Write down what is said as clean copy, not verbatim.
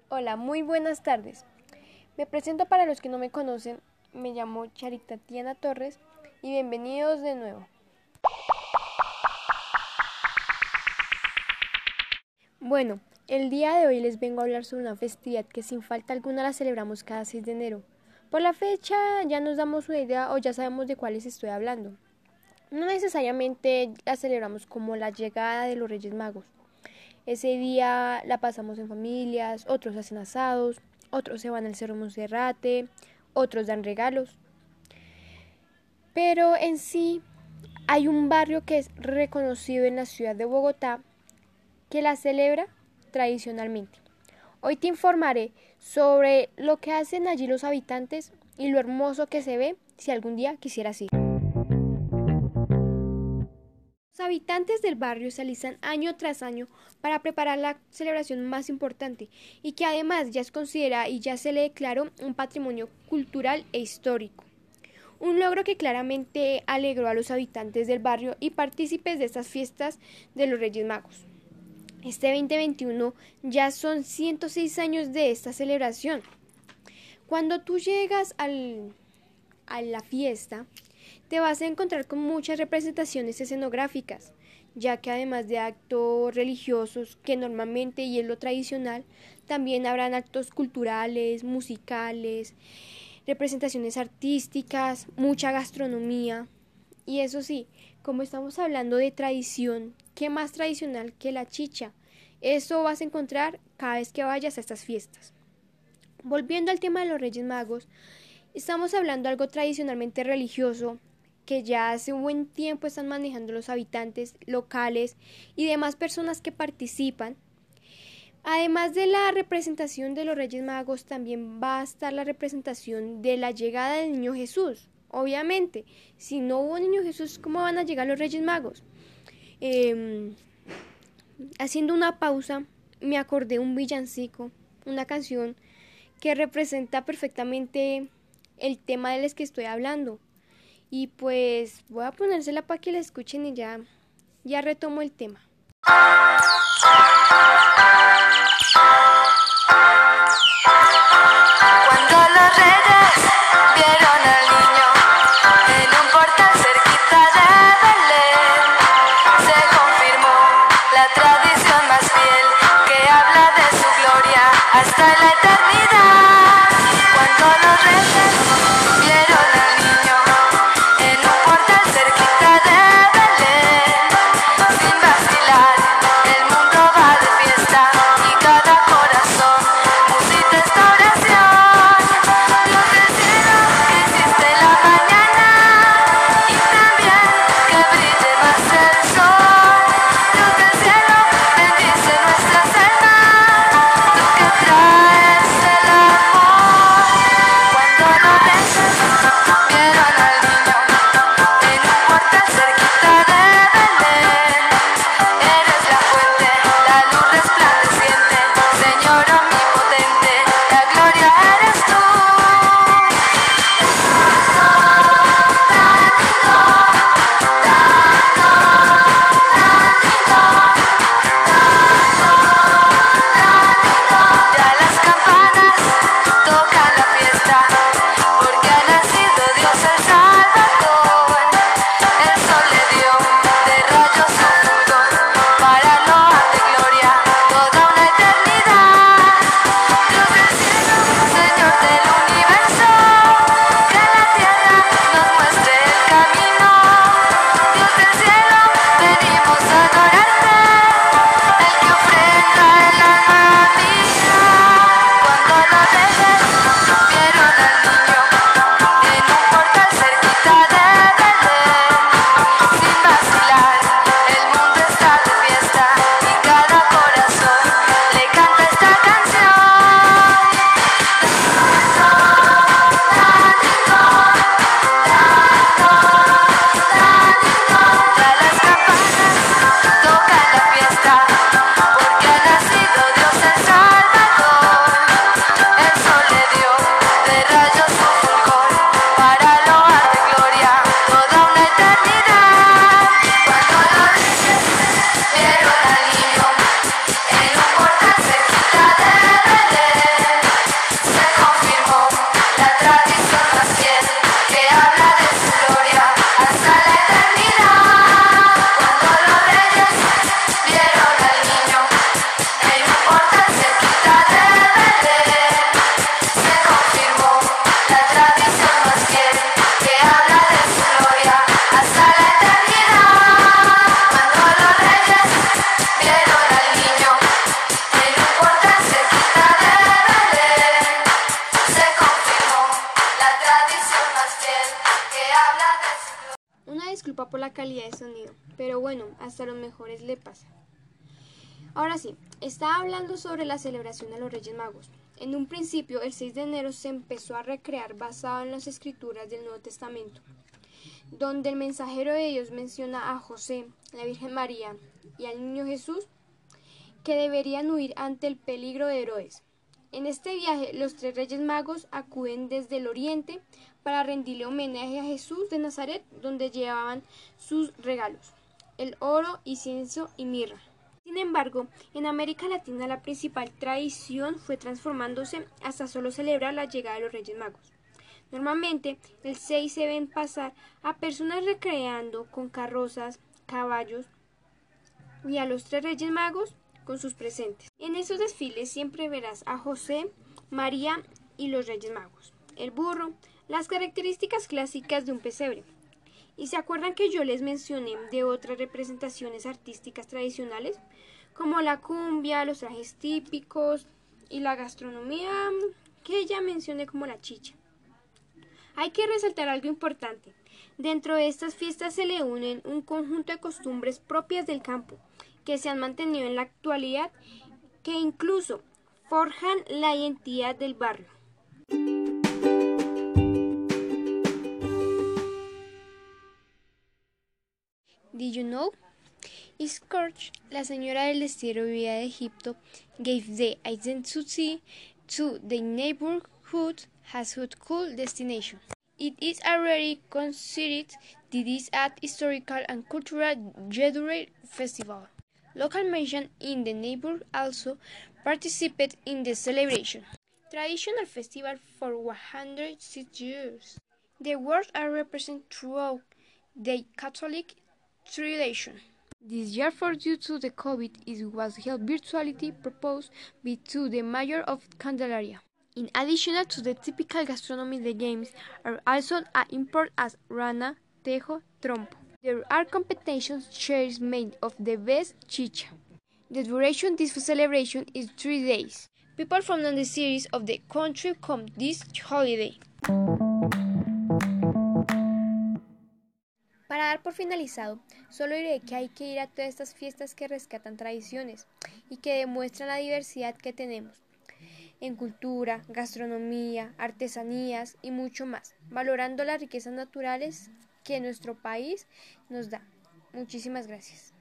Hola, muy buenas tardes. Me presento para los que no me conocen, me llamo Charitatiana Torres y bienvenidos de nuevo. Bueno, el día de hoy les vengo a hablar sobre una festividad que sin falta alguna la celebramos cada 6 de enero. Por la fecha ya nos damos una idea o ya sabemos de cuáles estoy hablando. No necesariamente la celebramos como la llegada de los Reyes Magos. Ese día la pasamos en familias, otros hacen asados, otros se van al Cerro Monserrate, otros dan regalos. Pero en sí hay un barrio que es reconocido en la ciudad de Bogotá que la celebra tradicionalmente. Hoy te informaré sobre lo que hacen allí los habitantes y lo hermoso que se ve si algún día quisieras ir. Los habitantes del barrio se alistan año tras año para preparar la celebración más importante y que además ya es considerada y ya se le declaró un patrimonio cultural e histórico. Un logro que claramente alegró a los habitantes del barrio y partícipes de estas fiestas de los Reyes Magos. Este 2021 ya son 106 años de esta celebración. Cuando tú llegas a la fiesta, te vas a encontrar con muchas representaciones escenográficas, ya que además de actos religiosos, que normalmente y es lo tradicional, también habrán actos culturales, musicales, representaciones artísticas, mucha gastronomía. Y eso sí, como estamos hablando de tradición, ¿qué más tradicional que la chicha? Eso vas a encontrar cada vez que vayas a estas fiestas. Volviendo al tema de los Reyes Magos, estamos hablando de algo tradicionalmente religioso que ya hace un buen tiempo están manejando los habitantes locales y demás personas que participan. Además de la representación de los Reyes Magos, también va a estar la representación de la llegada del Niño Jesús. Obviamente, si no hubo Niño Jesús, ¿cómo van a llegar los Reyes Magos? Haciendo una pausa, me acordé de un villancico, una canción que representa perfectamente el tema del que estoy hablando. Y pues voy a ponérsela para que la escuchen y ya retomo el tema. Cuando los reyes vieron al niño en un portal cerquita de Belén, se confirmó la tradición más fiel que habla de su gloria hasta la eternidad. Cuando los reyes vieron al niño en un portal cerquita de Belén, sin vacilar, el mundo va de fiesta y cada corazón musita esta oración. Dios del cielo, que hiciste la mañana y también que brille más el sol. Dios del cielo, bendice nuestras almas, tú que traes el amor. Cuando los reyes vieron al niño en un portal cerquita de Belén, eres la fuente, la luz resplandeciente, Señor omnipotente, la gloria eres tú. Ya las campanas tocan la fiesta, porque ha nacido Dios el Salvador. El sol le dio de rayos su fulgor, para loar de gloria toda una eternidad. calidad de sonido, pero bueno, hasta los mejores le pasa. Ahora sí, estaba hablando sobre la celebración de los Reyes Magos. En un principio, el 6 de enero se empezó a recrear basado en las escrituras del Nuevo Testamento, donde el mensajero de Dios menciona a José, la Virgen María y al niño Jesús que deberían huir ante el peligro de Herodes. En este viaje, los 3 Reyes Magos acuden desde el oriente para rendirle homenaje a Jesús de Nazaret, donde llevaban sus regalos, el oro, incienso y mirra. Sin embargo, en América Latina la principal tradición fue transformándose hasta solo celebrar la llegada de los Reyes Magos. Normalmente, el 6 se ven pasar a personas recreando con carrozas, caballos y a los 3 Reyes Magos con sus presentes. En esos desfiles siempre verás a José, María y los Reyes Magos, el burro, las características clásicas de un pesebre. ¿Y se acuerdan que yo les mencioné de otras representaciones artísticas tradicionales, como la cumbia, los trajes típicos y la gastronomía que ya mencioné como la chicha? Hay que resaltar algo importante. Dentro de estas fiestas se le unen un conjunto de costumbres propias del campo, que se han mantenido en la actualidad, que incluso forjan la identidad del barrio. Did you know? Scourge, la señora del destierro vivida de Egipto, gave the identity to the neighborhood as a cool destination. It is already considered this an historical and cultural gathering festival. Local mention in the neighborhood also participate in the celebration. Traditional festival for 106 years. The words are represented throughout the Catholic tradition. This year, for due to the COVID, it was held virtually proposed by to the mayor of Candelaria. In addition to the typical gastronomy, the games are also important as rana, tejo, trompo. There are competitions shares made of the best chicha. The duration of this celebration is 3 days. People from the cities of the country come this holiday. Para dar por finalizado, solo diré que hay que ir a todas estas fiestas que rescatan tradiciones y que demuestran la diversidad que tenemos en cultura, gastronomía, artesanías y mucho más, valorando las riquezas naturales que nuestro país nos da. Muchísimas gracias.